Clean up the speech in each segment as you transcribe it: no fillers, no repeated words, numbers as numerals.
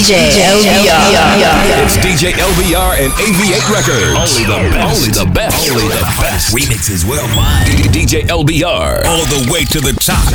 DJ LBR. It's DJ LBR and AV8 Records. Only the best. Only the best. Remixes worldwide. DJ LBR. All the way to the top.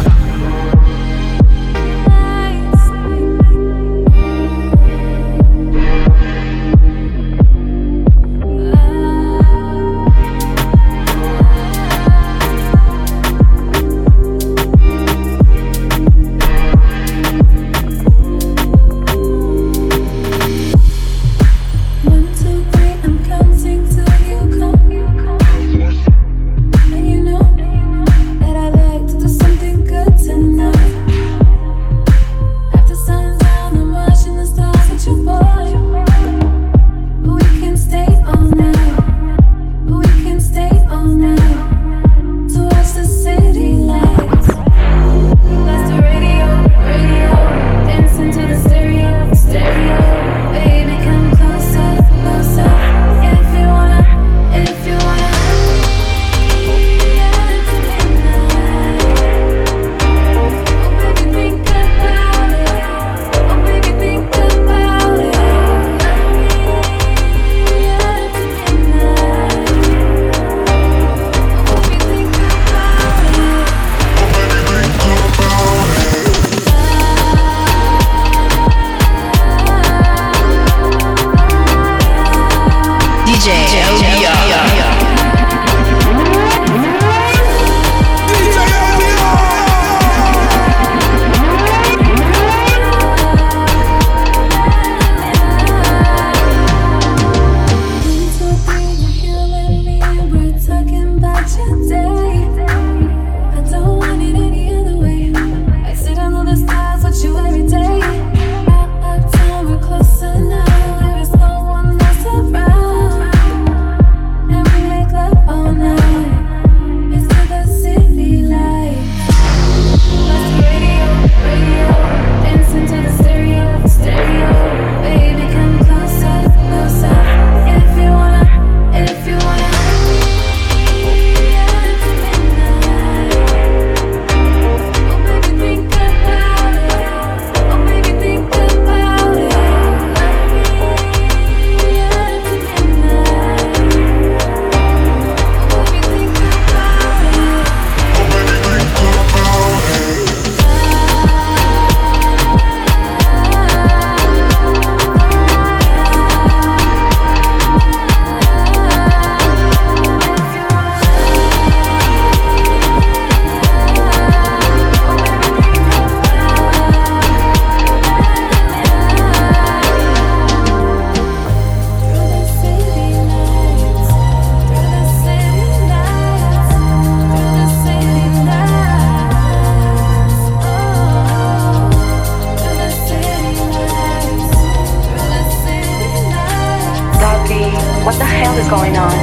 What the hell is going on?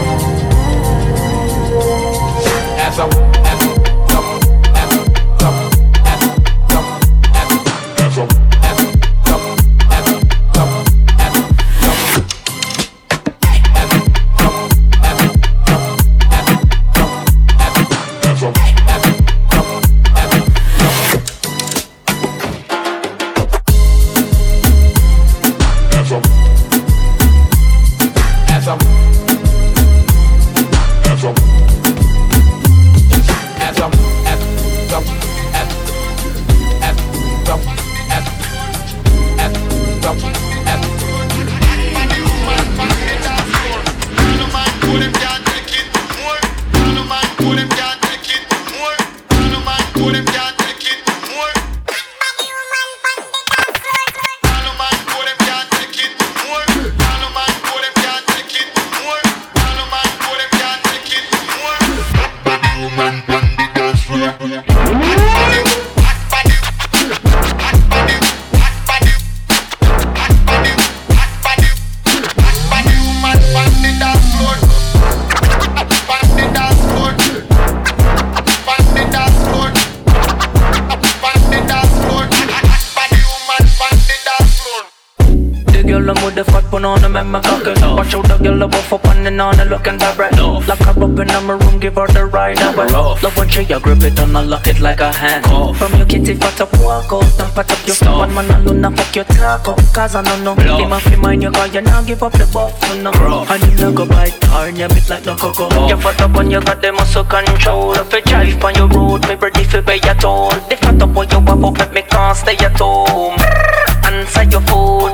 girl, I'm with the fat put on them and my cocky. Watch out the girl, I'm off up on and on and looking that right. Lock her up in my room, give her the ride. Love when she grip it and I lock it like a hand. From your kitty fat up, walk out and pat up your stuff. One man alone, I fuck your taco, cause I don't know. Him off your mind, you got you now give up the buff, you know. And you no go bite hard, you bit like no cocoa. You fat up when you got the muscle control. If you drive on your road, me ready for pay your toll. The fat up when you walk up, make me can't stay at home. Answer your food.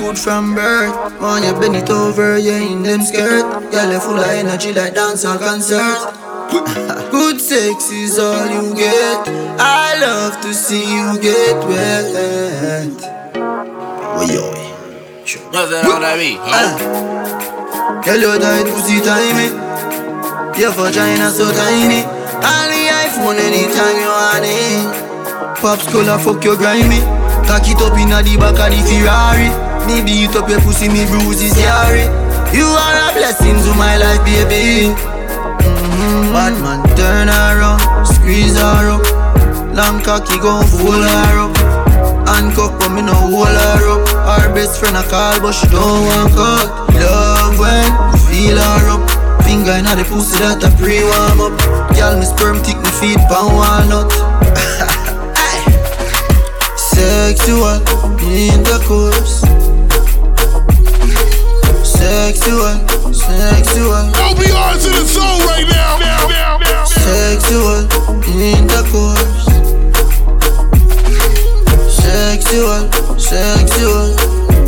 good from birth. Man, you bend it over, you in them skirt. Girl, you full of energy like dance or concert. Good sex is all you get. I love to see you get wet. Nothing on that beat. Girl, your tight pussy tiny. Your vagina so tiny. On the iPhone anytime you want it. Pops color fuck your grimy. Cock it up inna the back of the Ferrari. Me beat up your pussy, me bruises yari. You are a blessing to my life, baby. Batman turn her around, squeeze her up. Long cocky gon' fold her up. Handcuff but me no hold her up. Her best friend a call but she don't want cut. Love when you feel her up. Finger inna the pussy that a pre-warm up. Girl, me sperm thick, me feet pan walnut. Sexual intercourse. Sexual. Don't be on to the soul right now. Sexual intercourse. Sexual.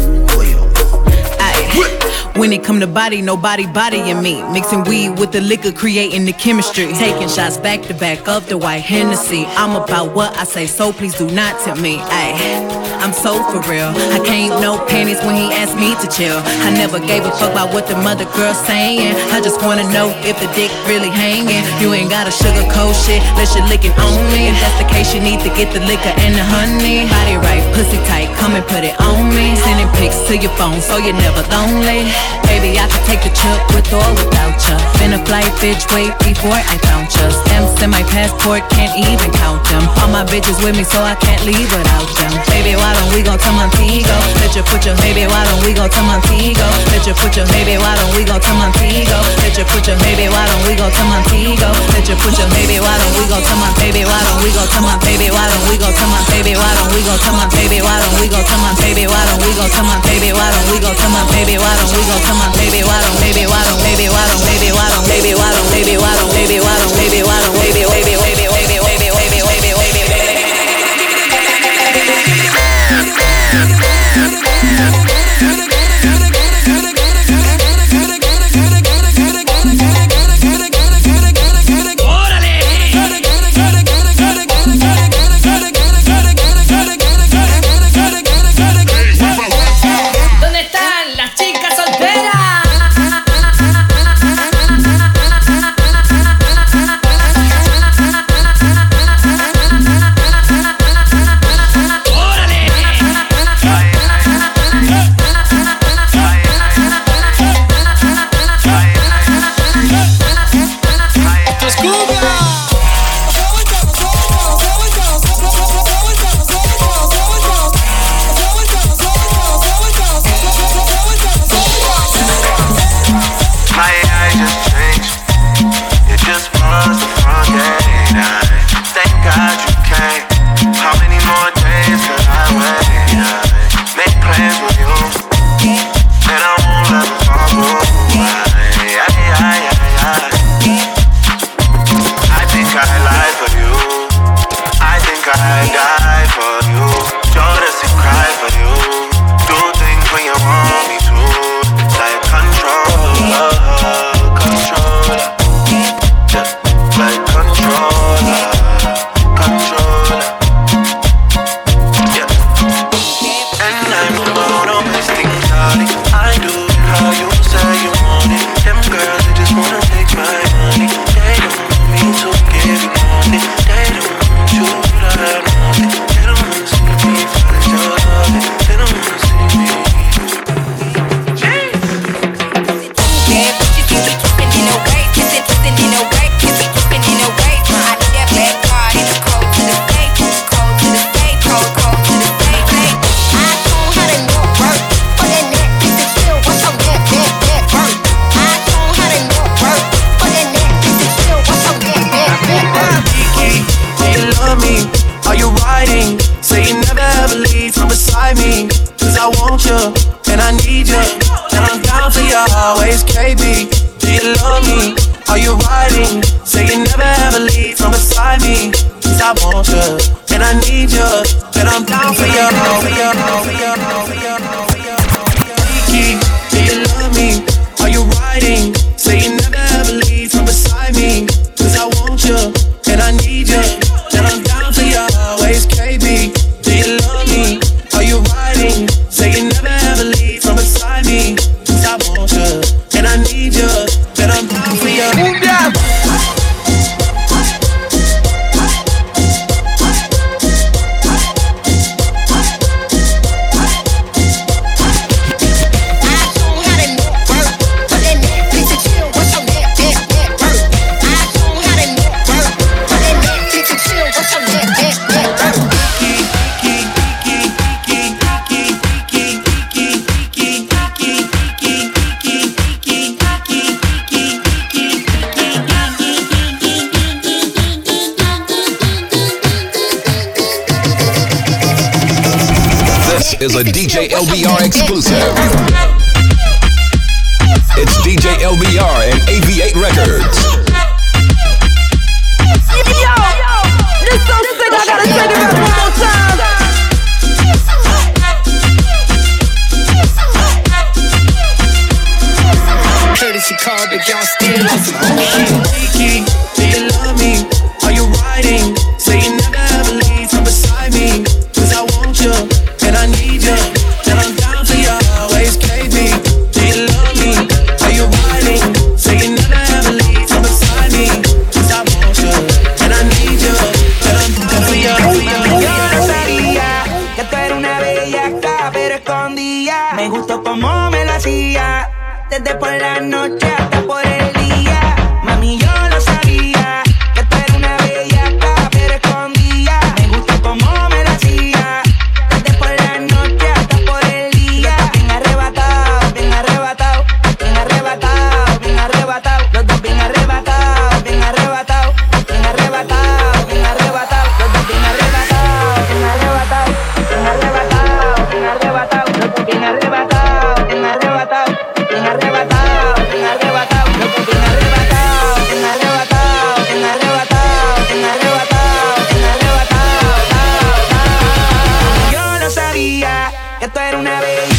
When it come to body, nobody bodying me. Mixing weed with the liquor, creating the chemistry. Taking shots back to back of the white Hennessy. I'm about what I say, so please do not tempt me. I'm so for real. I can't no panties when he asked me to chill. I never gave a fuck about what the mother girl's saying. I just wanna know if the dick really hanging. You ain't gotta sugarcoat shit, let your licking on me. If that's the case, you need to get the liquor and the honey. Body right, pussy tight, come and put it on me. Sending pics to your phone so you're never lonely. Baby, I can take the trip with or without ya. Been a flight bitch, wait before I count ya. Stamps in my passport, can't even count them. All my bitches with me, so I can't leave without them. Baby, why don't we go to Montego? Let you put your baby, why don't we go to Montego? Let you put your baby, why don't we go to Montego? Let you put your baby, why don't we go to Montego? Let you put your baby, why don't we go to my baby? Why don't we go to my baby? Why don't we go to my baby? Why don't we go to my baby? Why don't we go to my baby? Why don't we go to my baby? Why don't we go to my baby? Why don't we go to my baby? Why don't baby? Why don't baby? Why don't baby? Why don't baby? Why don't baby? Why don't baby? Why don't baby? Why don't baby? is a DJ LBR exclusive. It's DJ LBR and AV8 Records. Yo, this so sick, I gotta take it back one more time. Courtesy call, but y'all still on some shit. Do you love me? Are you riding? Say you never ever leave from beside me. Cause I want you, and I need you. And I'm down to you, always KB. Do you love me? Are you riding? Say you never ever leave from beside me. Cause I want you, and I need you. And I'm down for you. Yo no sabía que tú eres una bellaca, pero escondía. Me gustó como me lo hacía. Desde por la noche hasta por el día. Mami, yo lo sabía que tú eres una bellaca, pero escondía. Me gustó como me lo hacía. Desde por la noche hasta por el día. Bien arrebatado, bien arrebatado, bien arrebatado, bien arrebatado. Los dos bien arrebatados, bien arrebatados, bien arrebatados, bien arrebatados. Los dos bien arrebatados, bien arrebatados, bien arrebatados, bien arrebatados. Los dos bien arrebatados, bien arrebatados. Bien arrebatado, bien arrebatado, loco, bien arrebatado, bien arrebatado, bien arrebatado, bien arrebatado, bien arrebatado. Yo no sabía que tú eras una bella.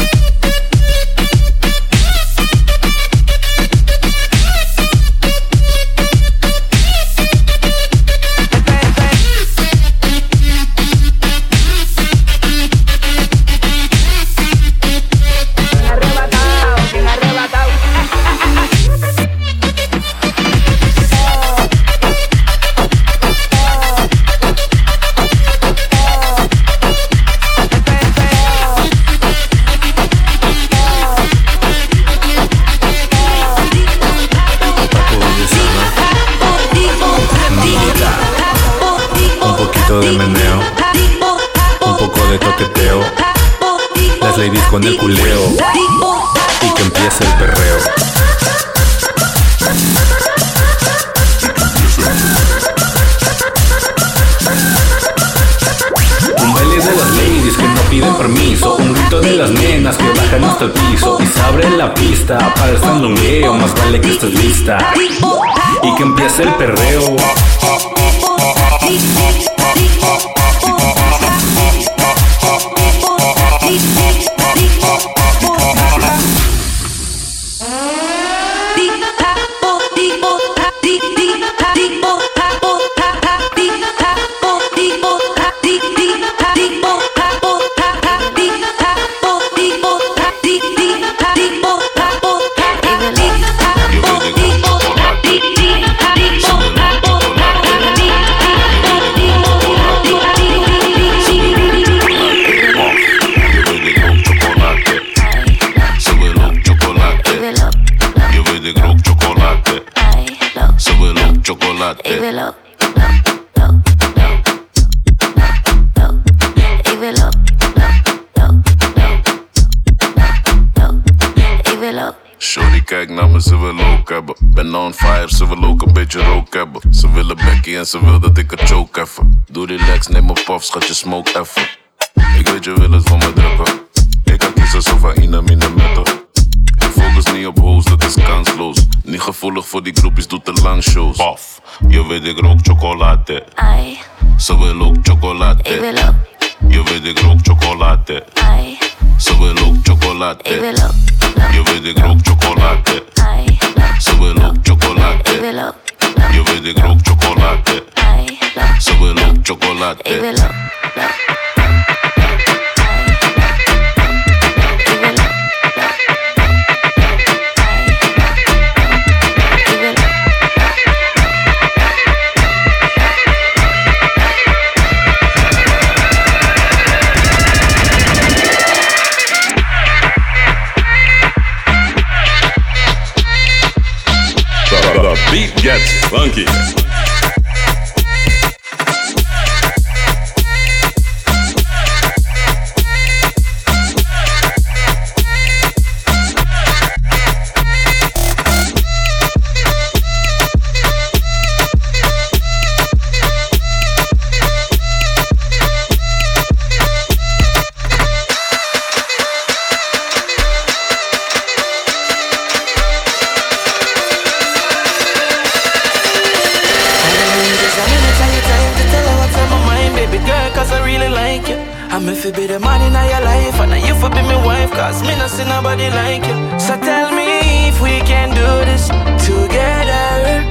De meneo, un poco de toqueteo, las ladies con el culeo y que empiece el perreo. Un baile de las ladies que no piden permiso, un grito de las nenas que bajan hasta el piso y se abre la pista para el sandungueo, más vale que estés lista y que empiece el perreo. Shorty kijk naar me, ze wil ook hebben. Ben on fire, ze wil ook een beetje rook hebben. Ze willen bekkie en ze wil dat ik het choke even. Doe relax, neem een puff, schat je smoke even. Ik weet je wil het van me drukken. Ik kan kiezen zo van in een metal. Ik focus niet op hoes, dat is kansloos. Niet gevoelig voor die groepjes, doe te lang shows. Puff, je weet ik rook chocolade. Ai. Ze wil ook chocolade. Ik wil ook. Je weet ik rook chocolade. Ai. Ze wil ook chocolade. Ik wil ook. Je weet ik rook chocolade. Ai. Ze wil ook chocolade. Ik wil ook. Je weet ik rook chocolade. Ai. Ze wil ook chocolade. Ik wil ook. The beat gets funky. girl, cause I really like you. I'm if you be the man in your life, and you for be my wife, cause me not see nobody like you. So tell me if we can do this together.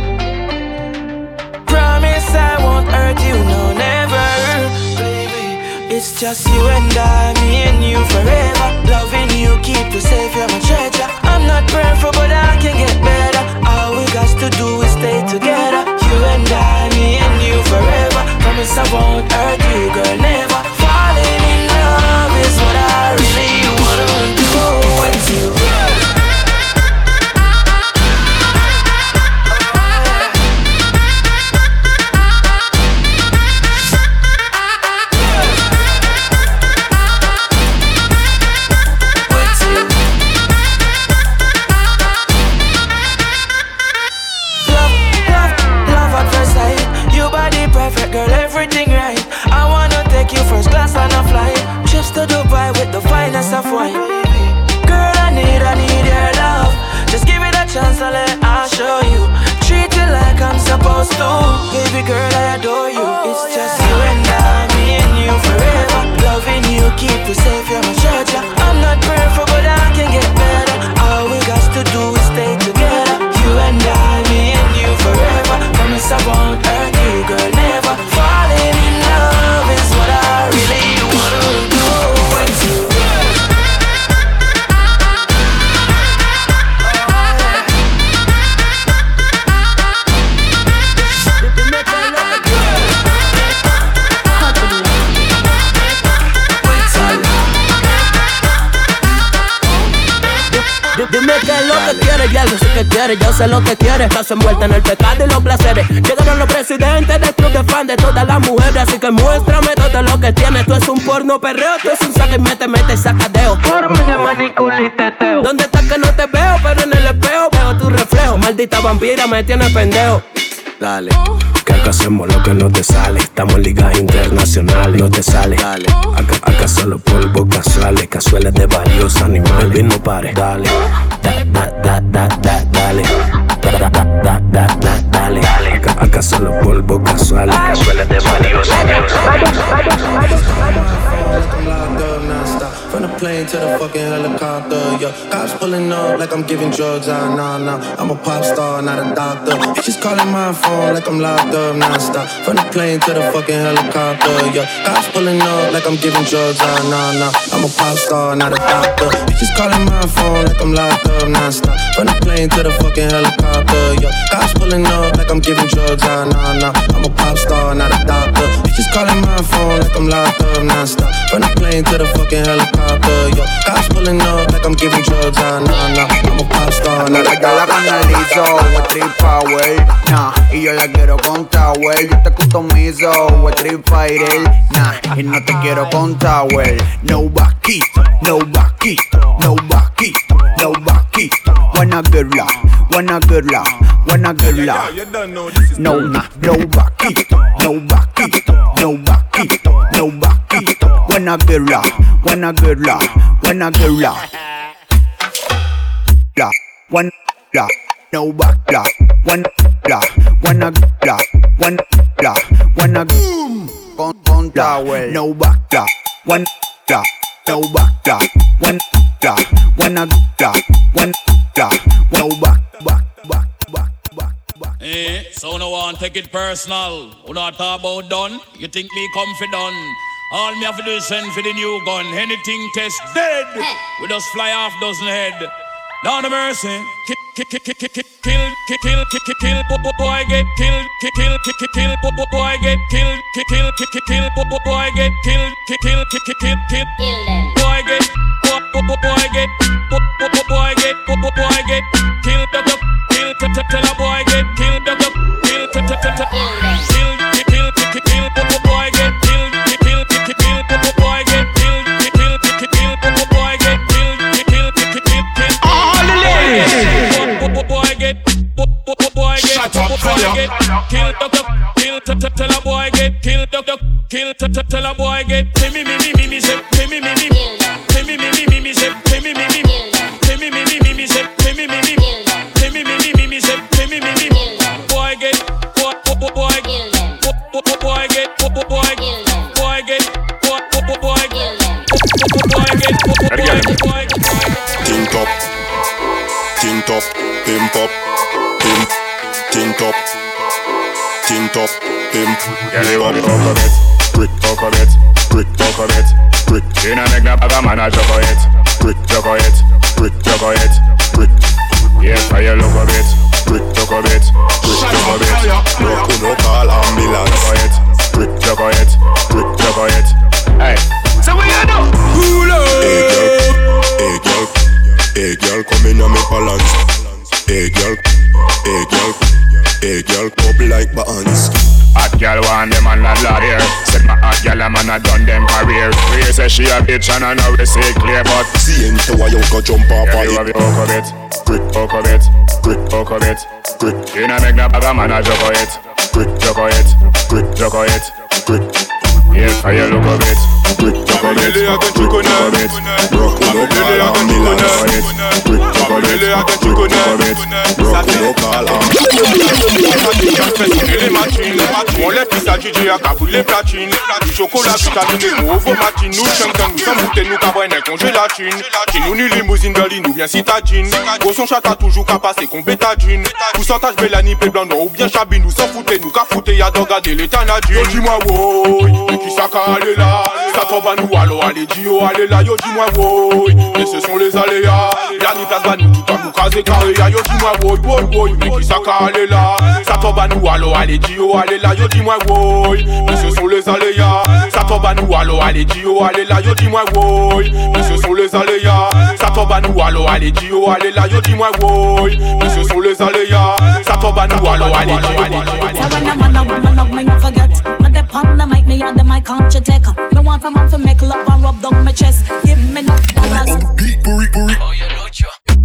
Promise I won't hurt you, no, never. Baby, it's just you and I, me and you forever. Loving you, keep you safe, you're my treasure. I'm not perfect, but I can get better. All we got to do is stay together. You and I, me and you forever. Promise I won't hurt you, girl, never. Falling in love is what I really wanna do with you. Girl, everything right. I wanna take you first class on a flight. Trips to Dubai with the finest of wine. Girl, I need your love. Just give me the chance and I'll show you. Treat you like I'm supposed to. Baby girl, I adore you. It's just you and I, me and you forever. Loving you, keep you safe, you're my treasure. I'm not perfect, but I can get better. All we got to do is stay together. You and I, me and you forever. Promise I won't hurt you, girl, never. Falling in love is what I really wanna do with you. Dime qué es lo que quieres, ya yo sé que quieres, yo sé lo que quieres. Estás envuelta en el pecado y los placeres. Llegaron los presidentes del club de fan de todas las mujeres, así que muéstrame todo lo que tienes. Tú es un porno perreo, tú es un saque y mete sacadeo. Forma de manicura y teteo. ¿Dónde estás que no te veo? Pero en el espejo veo tu reflejo. Maldita vampira, me tienes pendejo. Dale, que acá hacemos lo que no te sale. Estamos en ligas internacionales, no te sale. Dale, acá solo polvo casuales, cazuelas de varios animales. Baby, no pares, dale, dale, dale. Acá solo polvo casuales, cazuelas de varios animales. From the plane to the fucking helicopter, yo. Cops pulling up like I'm giving drugs, nah. I'm a pop star, not a doctor. Bitches calling my phone like I'm locked up, non-stop. From the plane to the fucking helicopter, yo. Cops pulling up like I'm giving drugs, nah. I'm a pop star, not a doctor. Bitches calling my phone like I'm locked up, non-stop. From the plane to the fucking helicopter, yo. Cops pulling up like I'm giving drugs, nah. I'm a pop star, not a doctor. Bitches calling my phone like I'm locked up, non-stop. From the plane to the fucking helicopter, yo. Cops pulling up like I'm giving drugs, nah. I'm a pop star, not a doctor. La canalizo, Street Power, nah. Y yo la quiero con Tower. Yo te customizo, Street Fighter, nah. Y no te quiero con Tower. No vaquito, no vaquito, no vaquito, no vaquito. Wanna girla, wanna girla, wanna girla. No, no vaquito, no vaquito, no vaquito, no vaquito. Wanna girla, wanna girla, wanna girla. One la, no back la, one la, wanna la, one la, wanna con Tower, no back la, one la, no back la, one la, wanna la, one la, no back. So no one take it personal. Who not talk about done? You think me confident? All me have to do is send for the new gun. Anything test dead. We just fly off dozen head. Down the mercy. Kill, boy get killed, kill, boy get killed, boy get killed, boy get killed, tell a boy get killed, tell a boy get killed, tell a boy get me, say, me, boy get tint up, pimp. Yeah, they want me coconut, brick coconut, brick coconut, brick. You know make that bag a man a chocolate, brick chocolate, brick chocolate, brick. Yeah, fire look a bit, brick chocolate, brick chocolate. No call ambulance. Brick chocolate, brick chocolate. Hey, so what you do? Hey girl, come in on me balance. Hey girl, up like bands. Hot girl want them and not lot here. Said my hot girl a man a done them career. We say she a bitch and I know we say clear, but see into why you go jump off of it. Yeah, you have it, brick chocolate, brick chocolate, brick. You know make that bag a man a chocolate, brick chocolate, brick chocolate, brick. Yeah, fire look a bit, brick chocolate, brick chocolate. Broke no call ambulance. Brick chocolate, brick chocolate. Broke no call on les pistes à DJ à Kaboul les platines. Du chocolat vitaminé pour ovo matine. Nous chantons, nous sommes boutés, nous cabouins d'un congélatine. Chez nous ni limousine Berlin ou bien citadine. Gros son chata toujours qu'à passer qu'on bétadine. Pourcentage Mélanie, P blanc ou bien Chabine. Nous s'en foutez, nous qu'à fouter, y'a d'en garder l'état nadine. Dis-moi woy, qui ça qu'à aller là? Ça tombe à nous, alors allez Dio, allez là, yo dis-moi woy. Et ce sont les aléas. Y'a ni place, bah nous tout à nous caser carré. Yo dis-moi woy, mais qui ça qu'à aller là? Ça tombe à nous, alors allez Dio, allez là, yo dis-moi woy. Mais ce sont les aléas. Ça tombe à nous, alors allez Dio, allez là, yo dis-moi woy. Mais ce sont les aléas. Ça tombe à nous, alors allez Dio, allez là, yo dis-moi woy. Mais ce sont les aléas. Ça tombe à nous, alors allez Dio, allez on the mic, me on the mic, can't you take 'em? Me want a man to make love and rub down my chest. Give me no dollars. Beat, oh, you know you.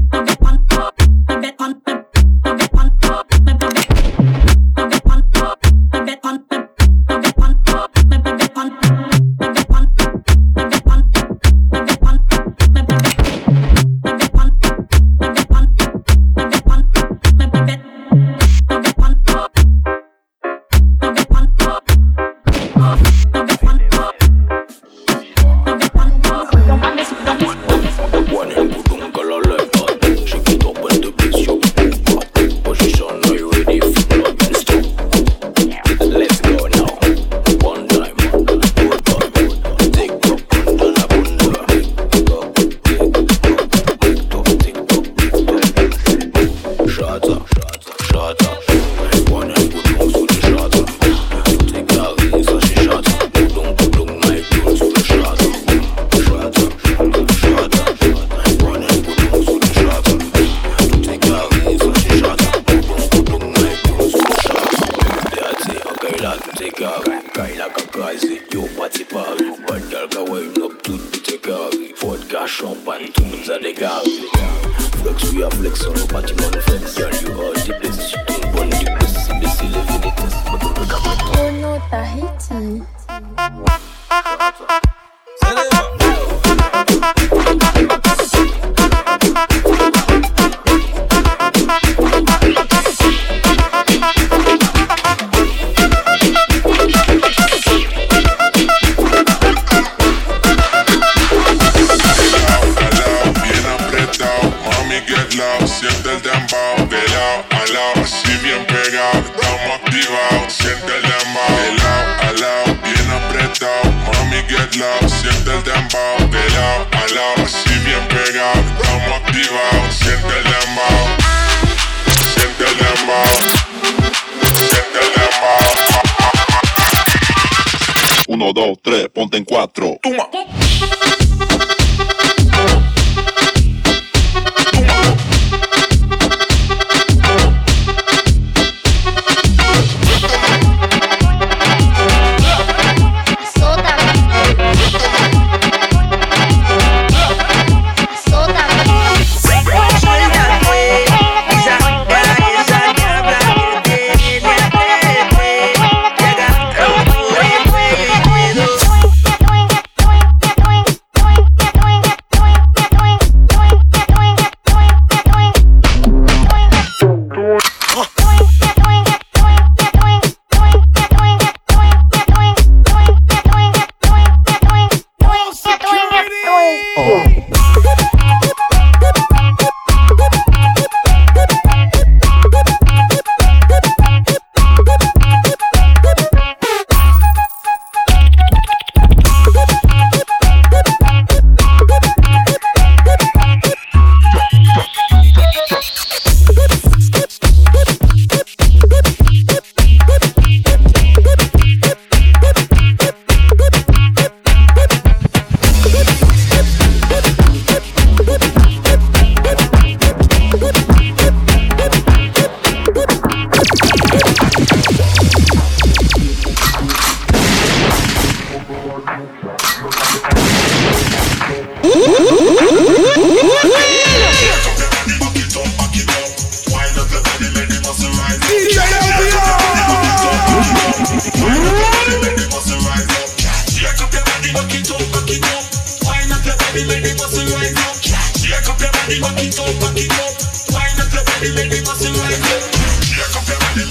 Uno, dos, tres, ponte en cuatro. Toma.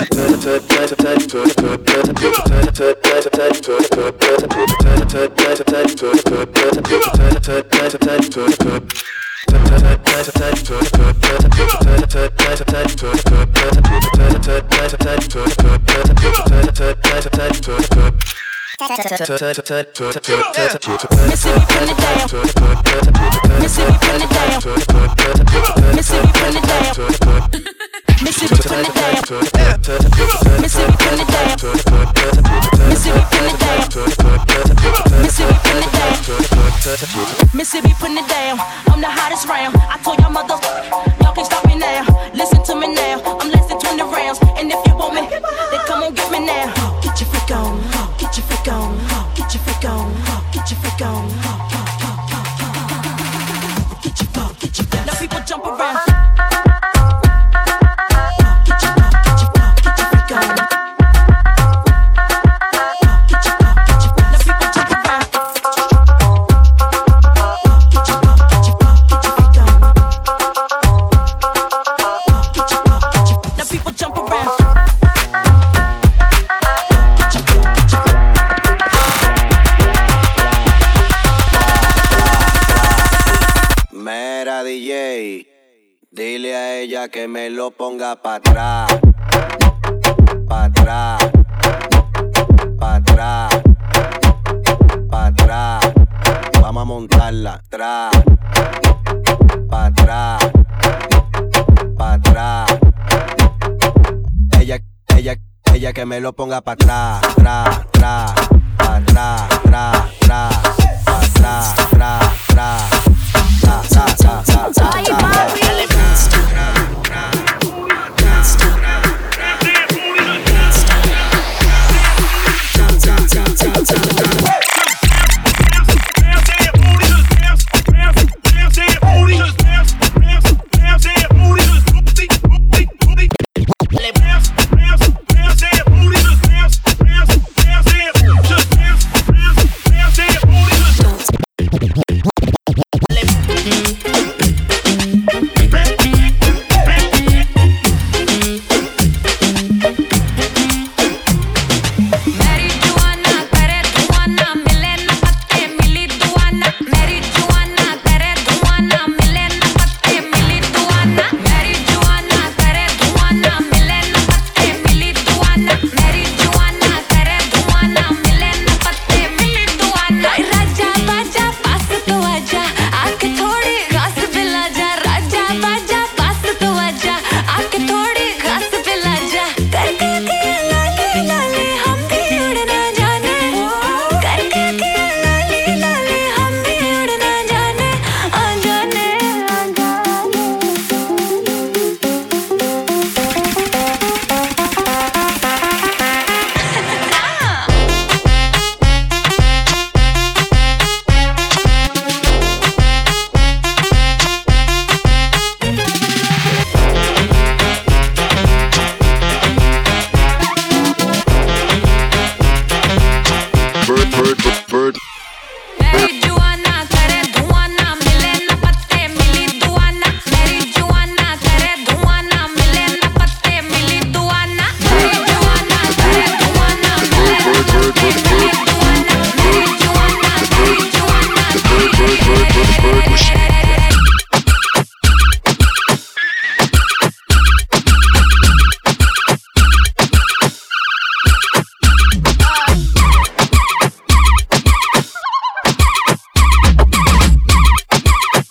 Mississippi putting it down. I'm the hottest round. I told y'all mother, y'all can't stop me now. Listen to me now. I'm less than 20 rounds. And if you want me, then come on get me now. Get your freak on. Get your freak on. Get your freak on. Get your freak on. Get your freak. Now people jump around. Dile a ella que me lo ponga pa' atrás, pa' atrás, pa' atrás, pa' atrás. Vamos a montarla, atrás, pa' atrás, pa' atrás. Ella que me lo ponga pa' atrás, tra, tra, pa' atrás, tra, tra, pa' atrás, tra, tra.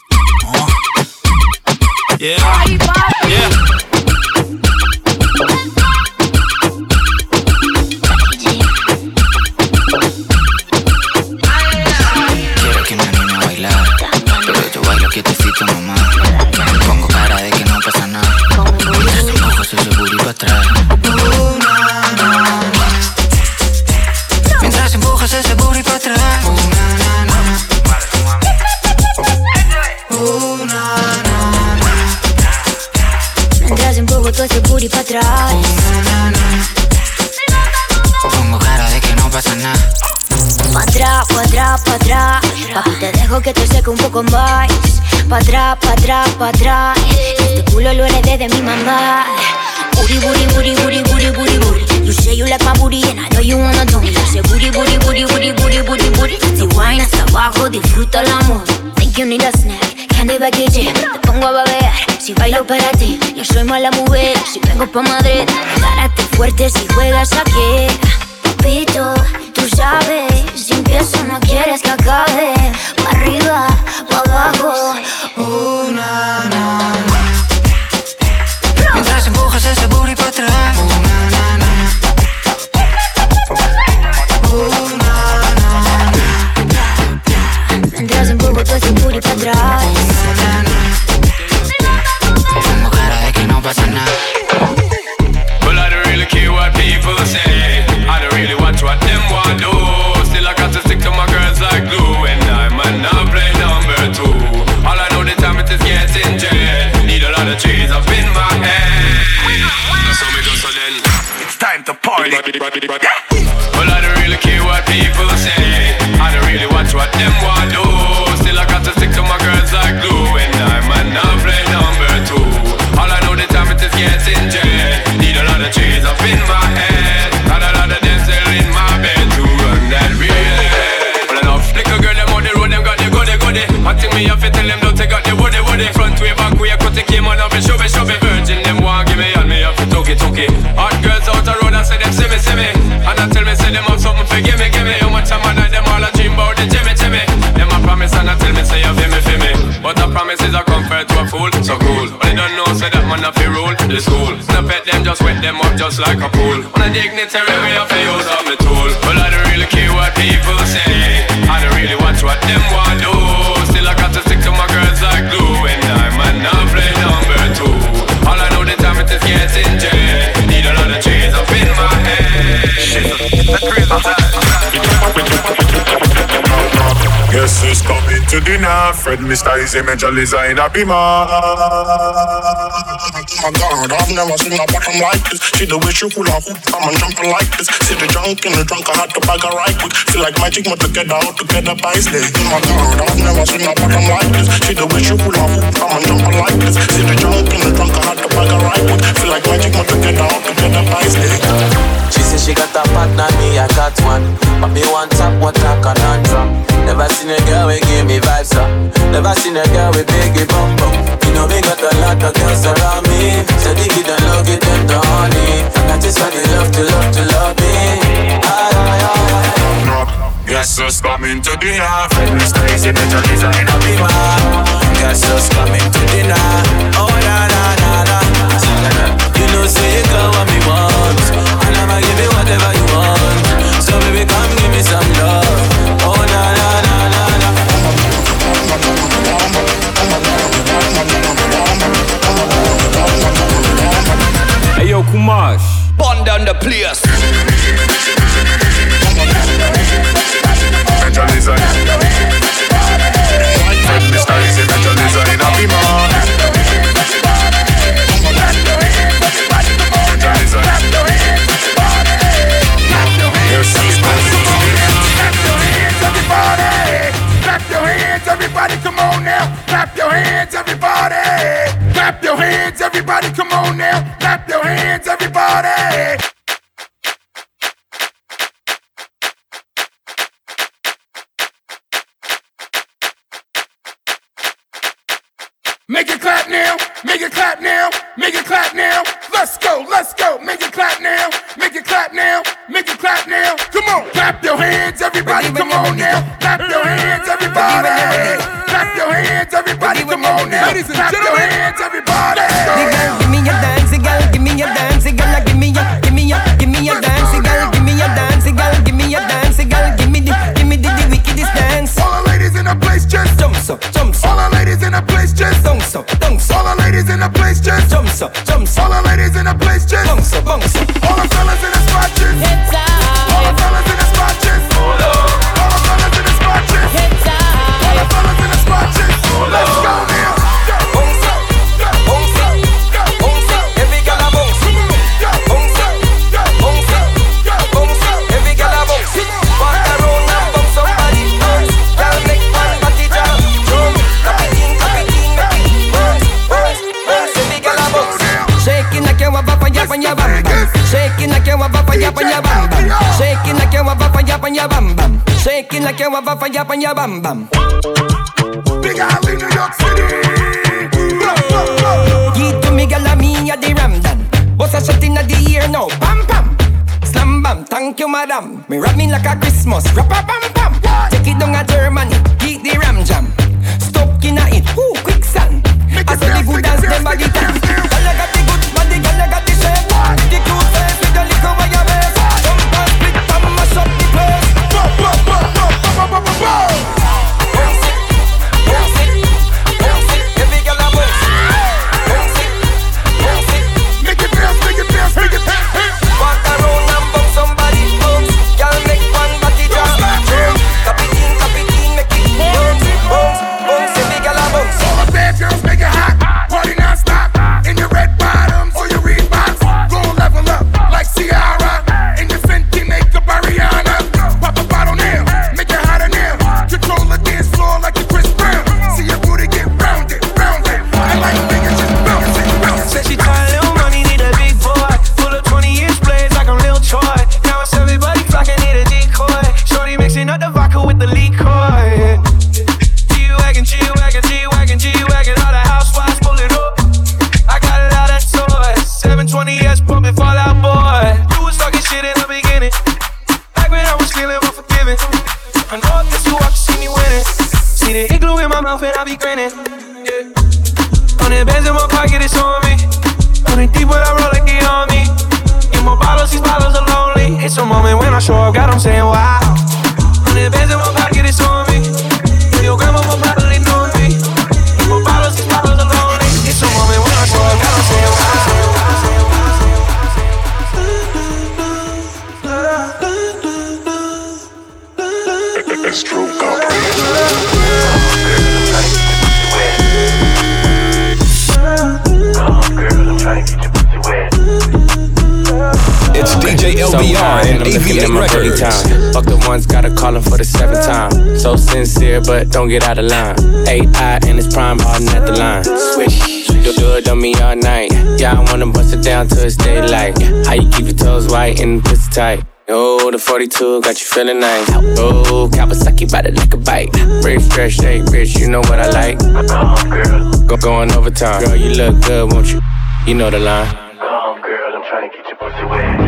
Yeah. pa' atrás. Papi, te dejo que te seque un poco más. Pa' atrás, pa' atrás, pa' atrás. Este culo lo heredé de mi mamá. Booty, booty, booty, booty, booty, booty, booty. You say you like my booty and I know you wanna do me. Yo say booty, booty, booty, booty, booty, booty, booty. Si wine hasta abajo, disfruta el amor. Think you need a snack, candy package. Te pongo a babear, si bailo para ti. Yo soy mala mujer, si vengo pa' Madrid. Párate fuerte si juegas aquí. Papito, tú sabes, si empiezo no quieres que acabe. Pa' arriba, pa' abajo. Na, na, na. Mientras empujas ese booty pa' atrás. Na, na, na. Na, na, na. Mientras empujo todo ese booty pa' atrás. Na, na, na. Tengo cara de que no pasa nada. Well, I don't really care what people say. I don't really watch what them want do. Still I got to stick to my girls like glue. And I might not play number two. All I know the time it is getting jet. Need a lot of trees up in my head. So me go so then. It's time to party. Well, I don't really care what people say. I don't really watch what them want do. Still I got to stick to my girls like glue. And I might not play number two. All I know the time it is getting jet. Need a lot of trees up in my head. Got a lot of them still in my bed to run that real. Well, enough little girl them on the road, them got the goody. I think me have to tell them don't take out the woody. Front way, back way, cut the came on up and show me. Virgin them want give me and me have to took it. Hot girls out the road and say them see me. And I tell me say them have something for give me. How much time I night them all a dream about the Jimmy. Them a promise and I tell me say you feel me. But a promise is a comfort to a fool, so cool. But they don't know say that man have to rule the school. Snap at them, just wet them up just like a pool. On a dignitary way have to use up my tool. Well, I don't really care what people say. I don't really watch what them want do. Still I got to stick to my girls like glue. And I might not play number two. All I know the time it is getting jet. Need a lot of trees up in my head. Shit, that's crazy time. Guess who's coming to dinner? Fred Mr. Easy Major Liza in a beamer. My God, I've never seen a bottom like this. See the way she hula hoop, I'm jumping like this. See the junk in the trunk, I had to bag her right quick. Feel like magic, but together, all together by slave. My God, I've never seen a bottom like this. See the way she hula hoop, I'm jumping like this. See the junk in the trunk, I had to bag her right quick. Feel like magic, but together, all together by slave. She said she got a partner, me I got one. But me want top, what I can't drop. Never seen a girl with give me vibes up. Never seen a girl with biggie bum bum. You know me got a lot of girls around me. So dig it and love it them to honey. I got this one they love me. Guess who's coming to dinner? Fred Mr. Easy Major Liza in a beamer. Guess who's coming to dinner? Oh na na na na. You know say you got what me want, and I'ma give you whatever you want. So baby come give me some love. Oh na na na na na. Hey yo Kumash, burn down the place. Major Liza. Fred Mr. Easy Major Liza in a beamer. Clap your hands, everybody, come on now. Clap your hands, everybody. Clap your hands, everybody, come on now. Clap your hands, everybody. Make it clap now, make it clap now, make it clap now. Let's go, make it clap now, make it clap now, make it clap now. Come on, clap your hands, everybody, come on now. Clap your hands, everybody. Clap your hands, everybody, come on now. Clap your hands, everybody. Give me your dancey girl, give me your dancey girl, give me your dancey girl, give me your dancey girl, give me your dancey girl, give me the wickedest dance. All the ladies in the place just jump so. All the ladies in the place just bounce so. All the ladies in the place just jump so. All the ladies in the place just bounce so. All the fellas in the spot just all the fellas in the spot just all the fellas in the spot just all the fellas in the spot just. Let's go now. Bounce up, bounce up, bounce up. Every girl a bounce. Bounce up, bounce up, bounce up. Every girl a bounce. Walk around and bounce up body. on your bam bam. Shaking like you have a fire on your bam bam. Big Alley, New York City. Give to me, girl, me a the Ramdan. Boss a shot inna the ear now, pam pam. Slam bam, thank you madam. Me rap me like a Christmas, rappa pam pam. Take it down a Germany, keep the ram jam. Stop inna it, ooh quicksand. I saw the good dance, them body dance. Girl, I got the good body, girl, I got the shape. The cute face with the little wire waist. Jump and split and mash up the place. Fuck the ones, gotta call him for the 7th time. So sincere, but don't get out of line. AI and it's prime hardin' at the line. Swish, do it on me all night. Yeah, I wanna bust it down till it's daylight. How you keep your toes white and the pussy tight? Oh, the 42 got you feeling nice. Oh, Kawasaki bout it like a bite. Rich, stretch, shake, bitch, you know what I like. Going overtime. Girl, you look good, won't you? You know the line. Come, girl, I'm trying to get your pussy wet.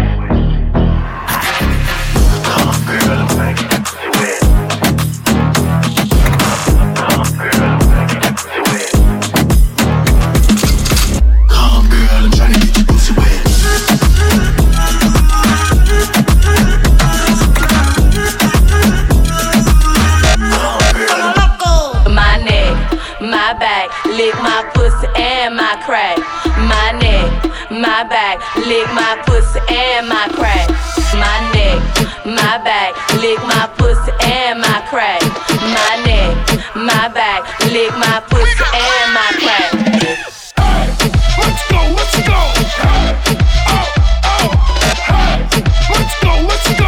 Lick my pussy and my crack. My neck, my back. Lick my pussy and my crack. My neck, my back. Lick my pussy and my crack. My neck, my back. Lick my pussy and my crack. Let's go, let's go. Let's go, let's go.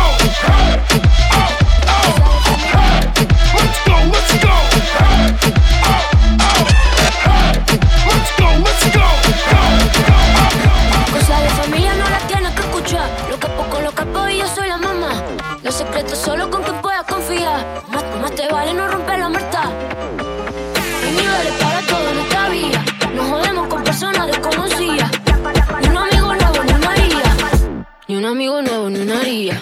Cosa de familia no la tienes que escuchar. Lo capo con lo capo y yo soy la mamá. Los secretos solo con quien puedas confiar. Más te vale no romper la muerta. Hay niveles para todo en esta vida. Nos jodemos con personas desconocidas. Ni un amigo nuevo ni una haría. Ni un amigo nuevo ni una haría.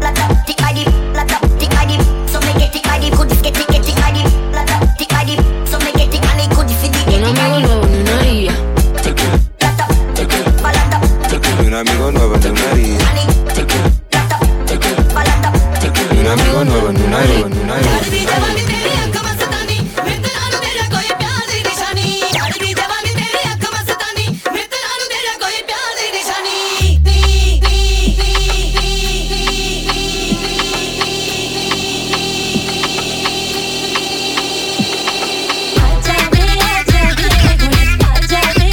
Un amigo nuevo en una haría. Un amigo nuevo en una haría. Acha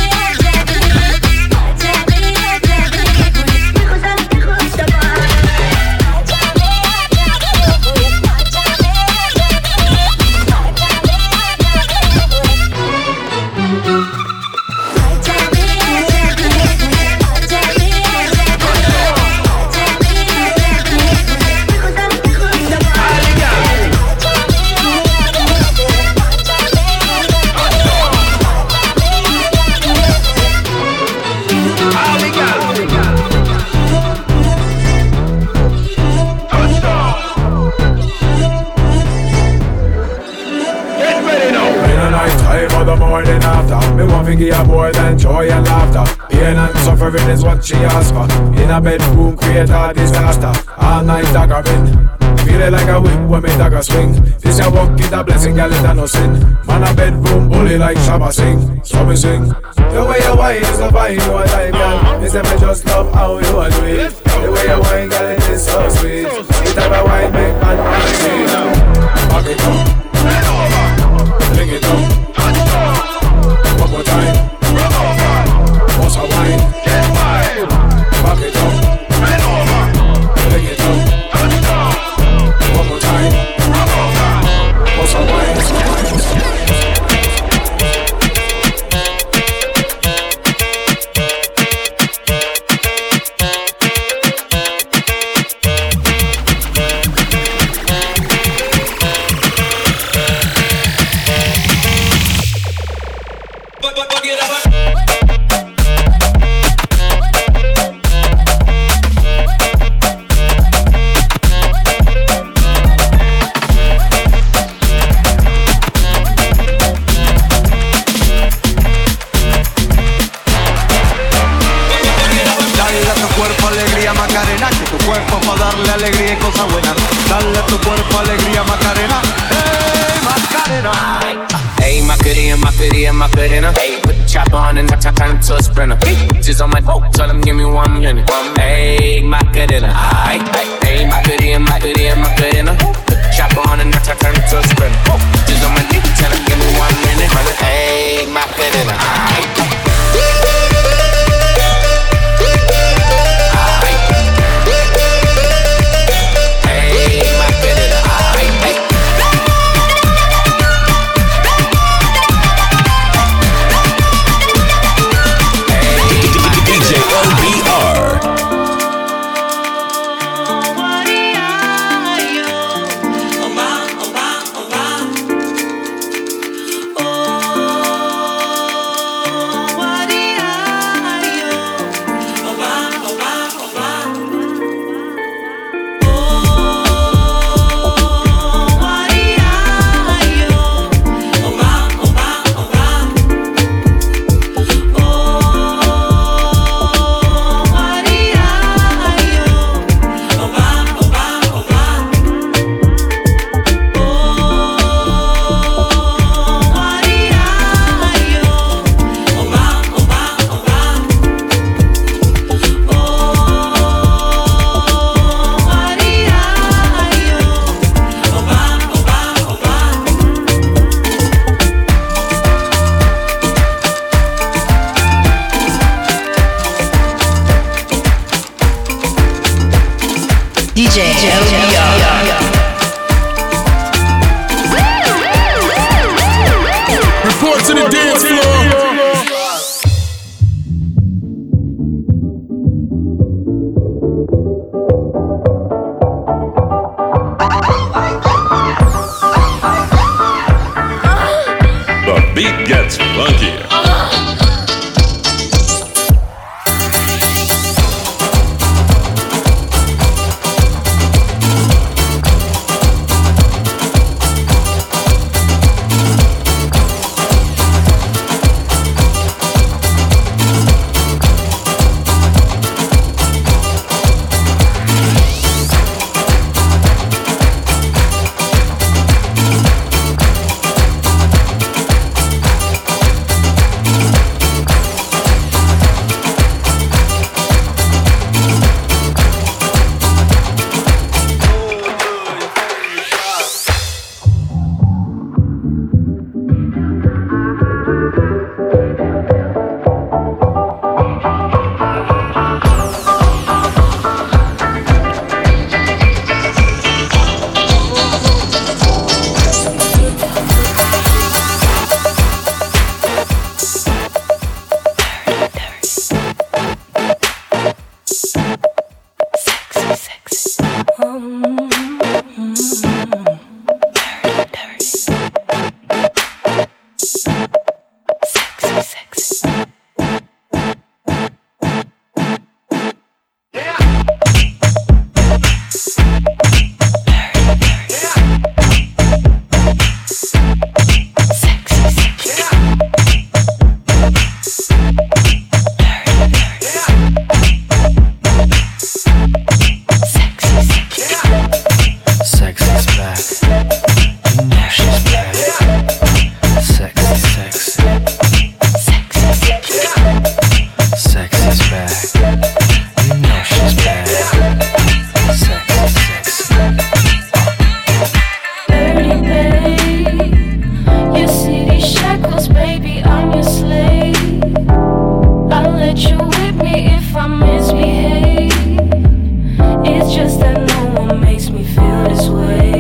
figure you more than joy and laughter. Pain and suffering is what she asks for. In a bedroom, create a disaster. All night daggering. Feeling like a whip when me dagger swing. This a walk is a blessing, girl, it a no sin. Man a bedroom bully like Shabba sing. So me sing. The way you whine is the vibe you a like, girl. Me say me just love how you a do it. The way you whine, girl, it is so sweet. The type of wine make man wanna see. Back it up, bring it up. One more time. What's a wine? Back it up, bring it up. One more time. What's a wine? Macarena. Hey, put the chopper on and turn to a sprinter. Just on my boat, tell them give me 1 minute. Hey, Macarena. Hey, Macarena. Put the chopper on and turn to a sprinter. Just on my dick, tell them give me 1 minute. Hey, Macarena. Report to the dance floor. The beat gets funky. It's just that no one makes me feel this way.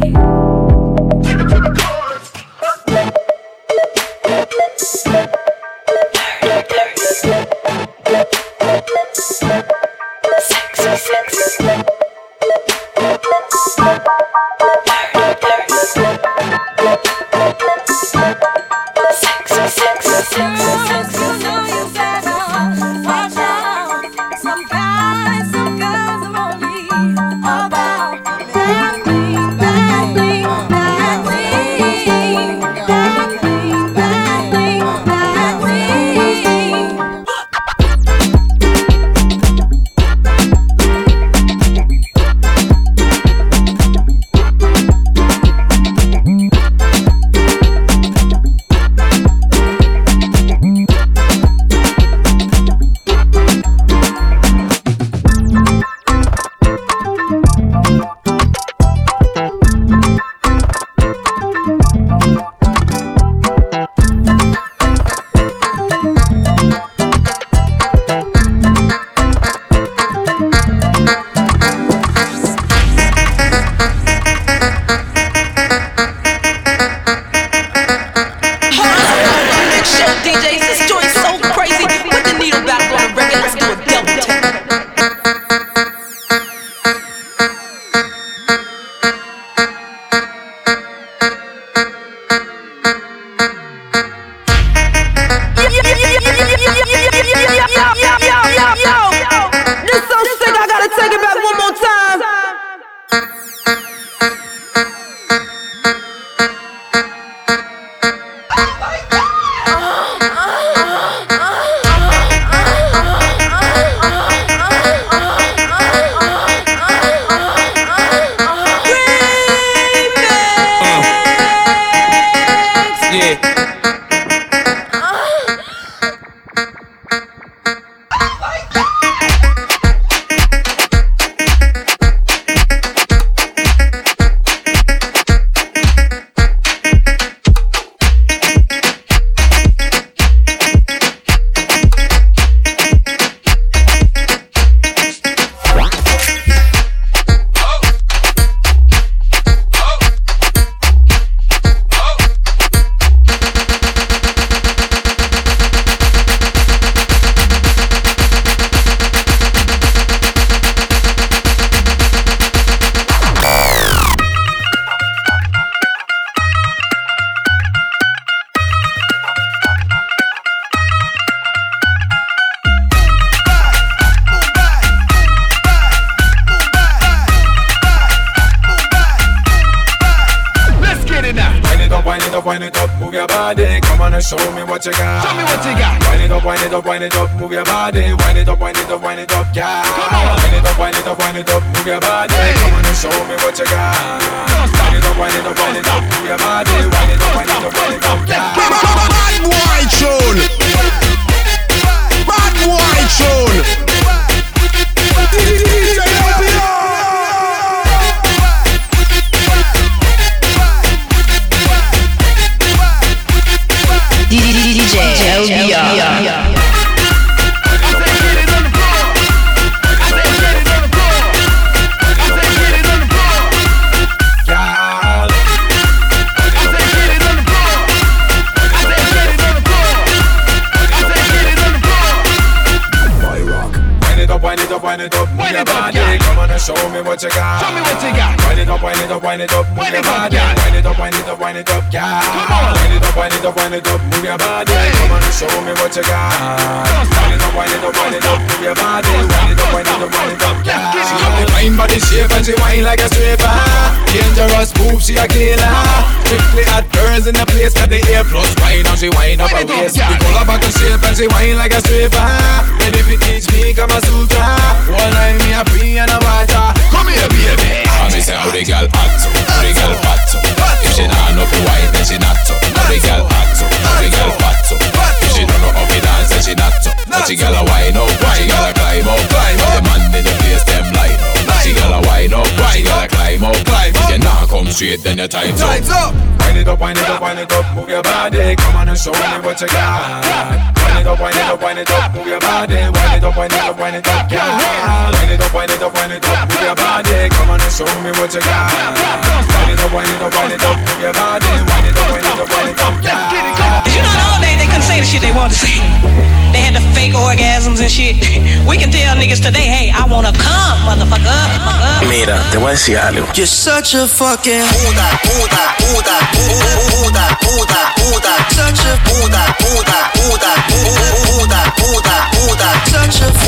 wind it up, move your body. Come on and show me what you got. Show me what you got. Wind it up, wind it up, wind it up, move your body. Wind it up, wind it up, wind it up, yeah. Come on. Wind it up, wind it up, wind it up, move your body. Come on and show me what you got. Wind it up, wind it up, wind it up, move your body. Wind it up, wind it up, wind it up, yeah. Bad boy tune. Bad boy tune. DJ LBR. DJ LBR. Wind it up, move your body. Come on and show me what you got. Show me what you got. Wind it up, wind it up, wind it up, move your body. Wind it up, wind it up, wind it up, yeah. Come on. Wind it up, wind it up, wind it up, move your body. Come on and show me what you got. Wind it up, wind it up, wind it up, move your body. Wind it up, wind it up, wind it up, yeah. She have the fine body shape and she whine like a stripper. Dangerous move, she a killer. Strictly hot girls in the place got the A plus wine and she whine up her waist. We pull up back and shape and she whine like a stripper. And if it teach me, come a sutra. One night me a free and a water. Come here, baby. I me say how the girl hot so, how the girl fat so. If she not know fi wine, then she not so. How the girl hot so, how the girl fat so. If she don't know how to dance, then she not so. But she girl a wine up, but she girl a climb up. The man in the place them line up. She girl a wine up, but she girl a climb up. If you not come straight, then your time's up. Wind it up, wind it up, wind it up, move your body. Come on and show me what you got. Wind it up, wind it up, wind it up, move your body. Wind it up, wind it up, wind it up, yeah. Wind it up, wind it up, wind it up, move your body. Come on and show me what you got. Wind it up, wind it up, wind it up, move your body. Wind it up, wind it up, wind it up, yeah. You know, all day they couldn't say the shit they wanted to say. They had the fake orgasms and shit. We can tell niggas today, hey, I wanna come, motherfucker. Mira, te voy a decir algo. You're such a fucking such a such a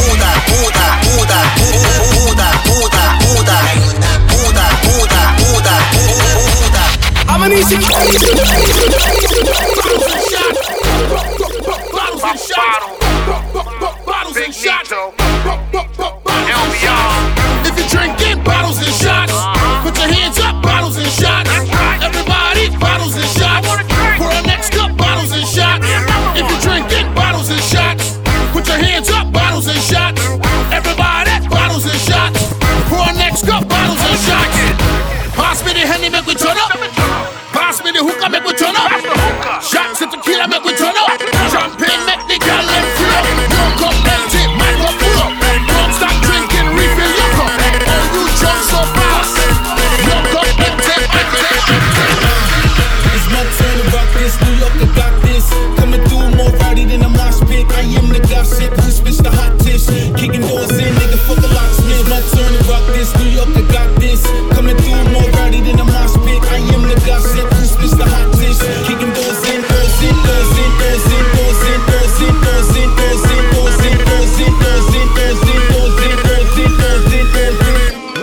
I'm an easy bottles and shots. If you're drinking bottles and shots, put your hands up, bottles and shots. Everybody, bottles and shots. For our next cup, bottles and shots. If you're drinking bottles and shots, put your hands up, bottles and shots. Everybody, bottles and shots. For our next cup, bottles and shots. Pass me the Henny, make we turn up. Pass me the hookah, make we turn up. Shots of tequila, make we turn up. Champagne, make the girl let fill up. Your cup empty, my cup full up. Don't stop drinking, refill your cup. Oh, you drunk so fast. Your cup empty, It's my turn to rock this. New York, I got this. Coming through more rowdy than a mosh pit. I am the gossip, who spits the hot tish. Kicking doors in, nigga, fuck a locksmith. It's my turn to rock this. New York, I got this. Coming through more rowdy than a mosh pit. I am the gossip, who spits the hot tish. Kicking doors in, doors in, doors in, doors in, doors in, doors in, doors in, doors in, doors in, doors in, doors in, doors in, doors in, doors in, doors in, doors in.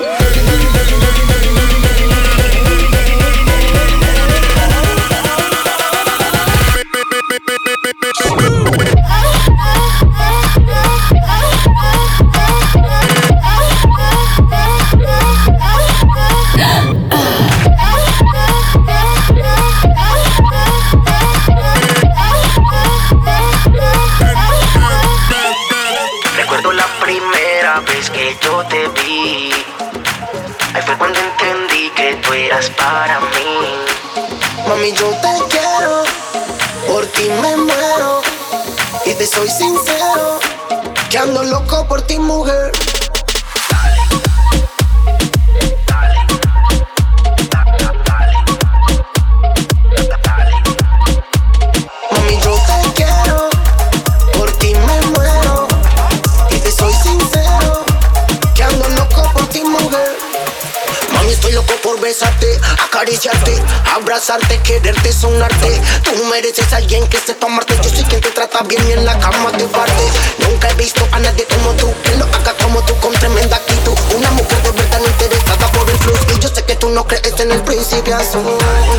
Recuerdo la primera vez que yo te vi. Ahí fue cuando entendí que tú eras para mí. Mami, yo te quiero, por ti me muero. Y te soy sincero, que ando loco por ti, mujer. Mami, yo te quiero, por ti me muero. Y te soy sincero, que ando loco por ti, mujer. Mami, estoy loco por besarte, acariciarte, abrazarte, quererte, sonarte. Tú mereces a alguien que sepa amarte. Yo soy quien te trata bien y en la cama te parte. Nunca he visto a nadie como tú, que lo haga como tú con tremenda actitud. Una mujer de verdad no interesada por el plus. Y yo sé que tú no crees en el principio azul.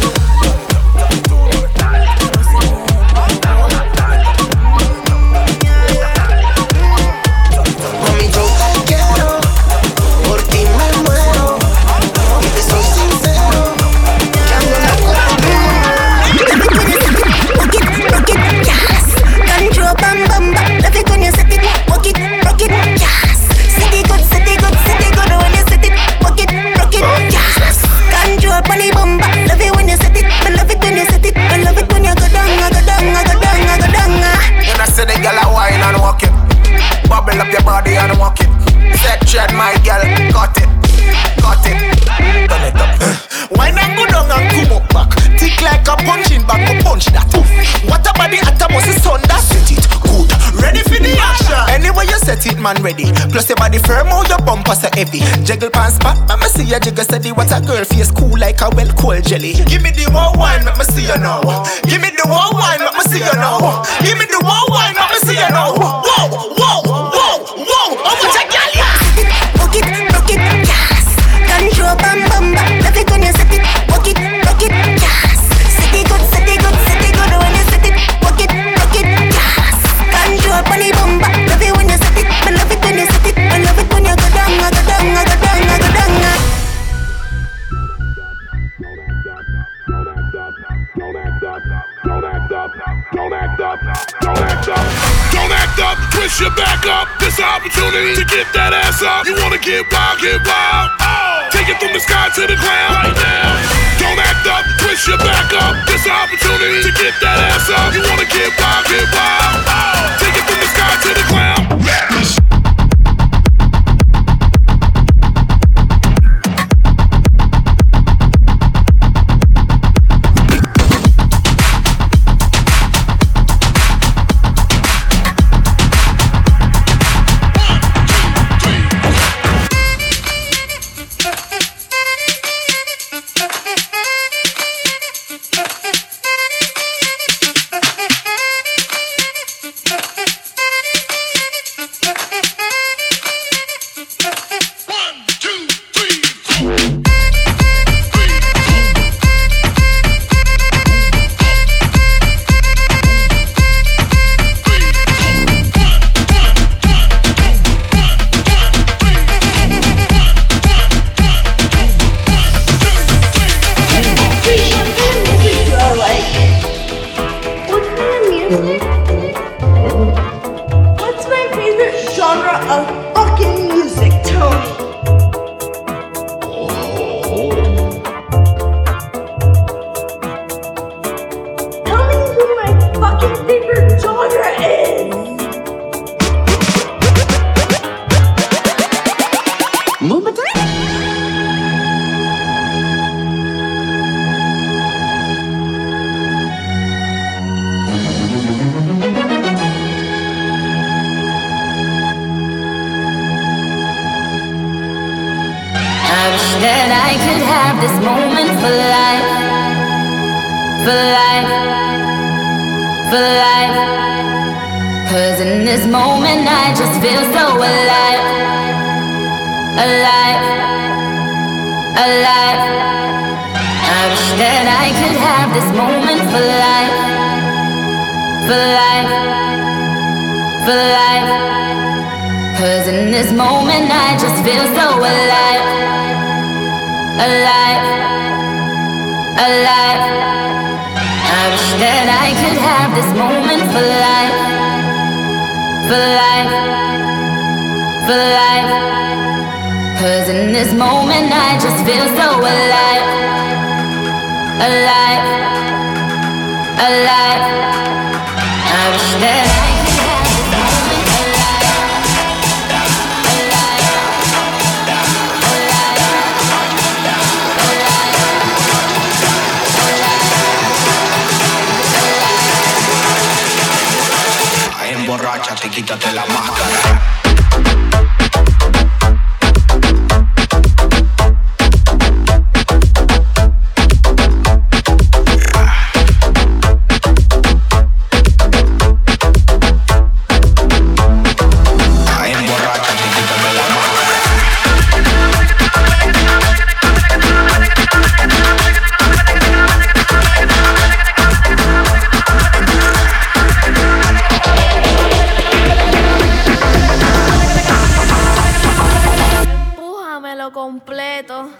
Bubble up your body and walk it. Section, my girl, got it, turn it up. Why not go down and come up back? Tick like a punching bag, go punch that. What about the atomos is on that? Set it good, ready for the action. Anyway you set it, man, ready. Plus your body firm, how your bumper so heavy. Jiggle pants back, let me see you jiggle steady. What a girl face cool like a well cold jelly. Give me the one wine, let me see you now. Give me the one wine, let me see you now. Give me the one wine, let me see you now. Whoa, whoa, whoa, whoa. How much a girl ya? Rock it, yes. Control bam bam bam. Love it when you set it. Rock it, yes. Set it good, set it good, set it good when you set it. Rock it, yes. Control bunny bum bam. Love it when you set it. I love it when you set it. I love it when you go down, I go down, I go down, I go down. Don't act up, twist your back up. This opportunity to get that ass up. You wanna get wild, oh. Take it from the sky to the ground right now. Don't act up, twist your back up. This opportunity to get that ass up. You wanna get wild, get wild. Take it from the sky to the ground. What's my favorite genre of fucking music, Tony? Tell me who my fucking favorite genre is. That I could have this moment for life, for life, for life. 'Cause in this moment I just feel so alive, alive, alive. I wish that I could have this moment for life, for life, for life. 'Cause in this moment I just feel so alive, alive, alive. I wish that I could have this moment for life, for life, for life. 'Cause in this moment I just feel so alive, alive, alive. I wish that I could have this moment alive, alive, Emborráchate, quítate la máscara. completo.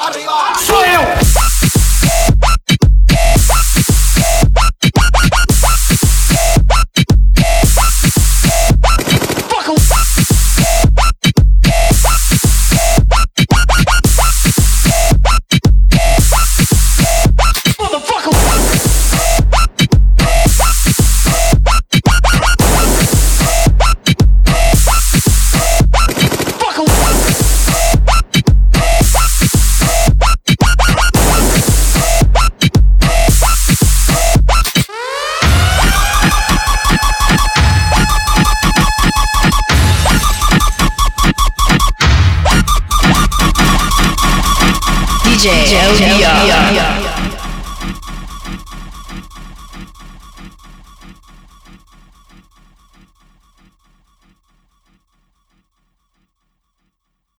arriba. Suelo. DJ LBR.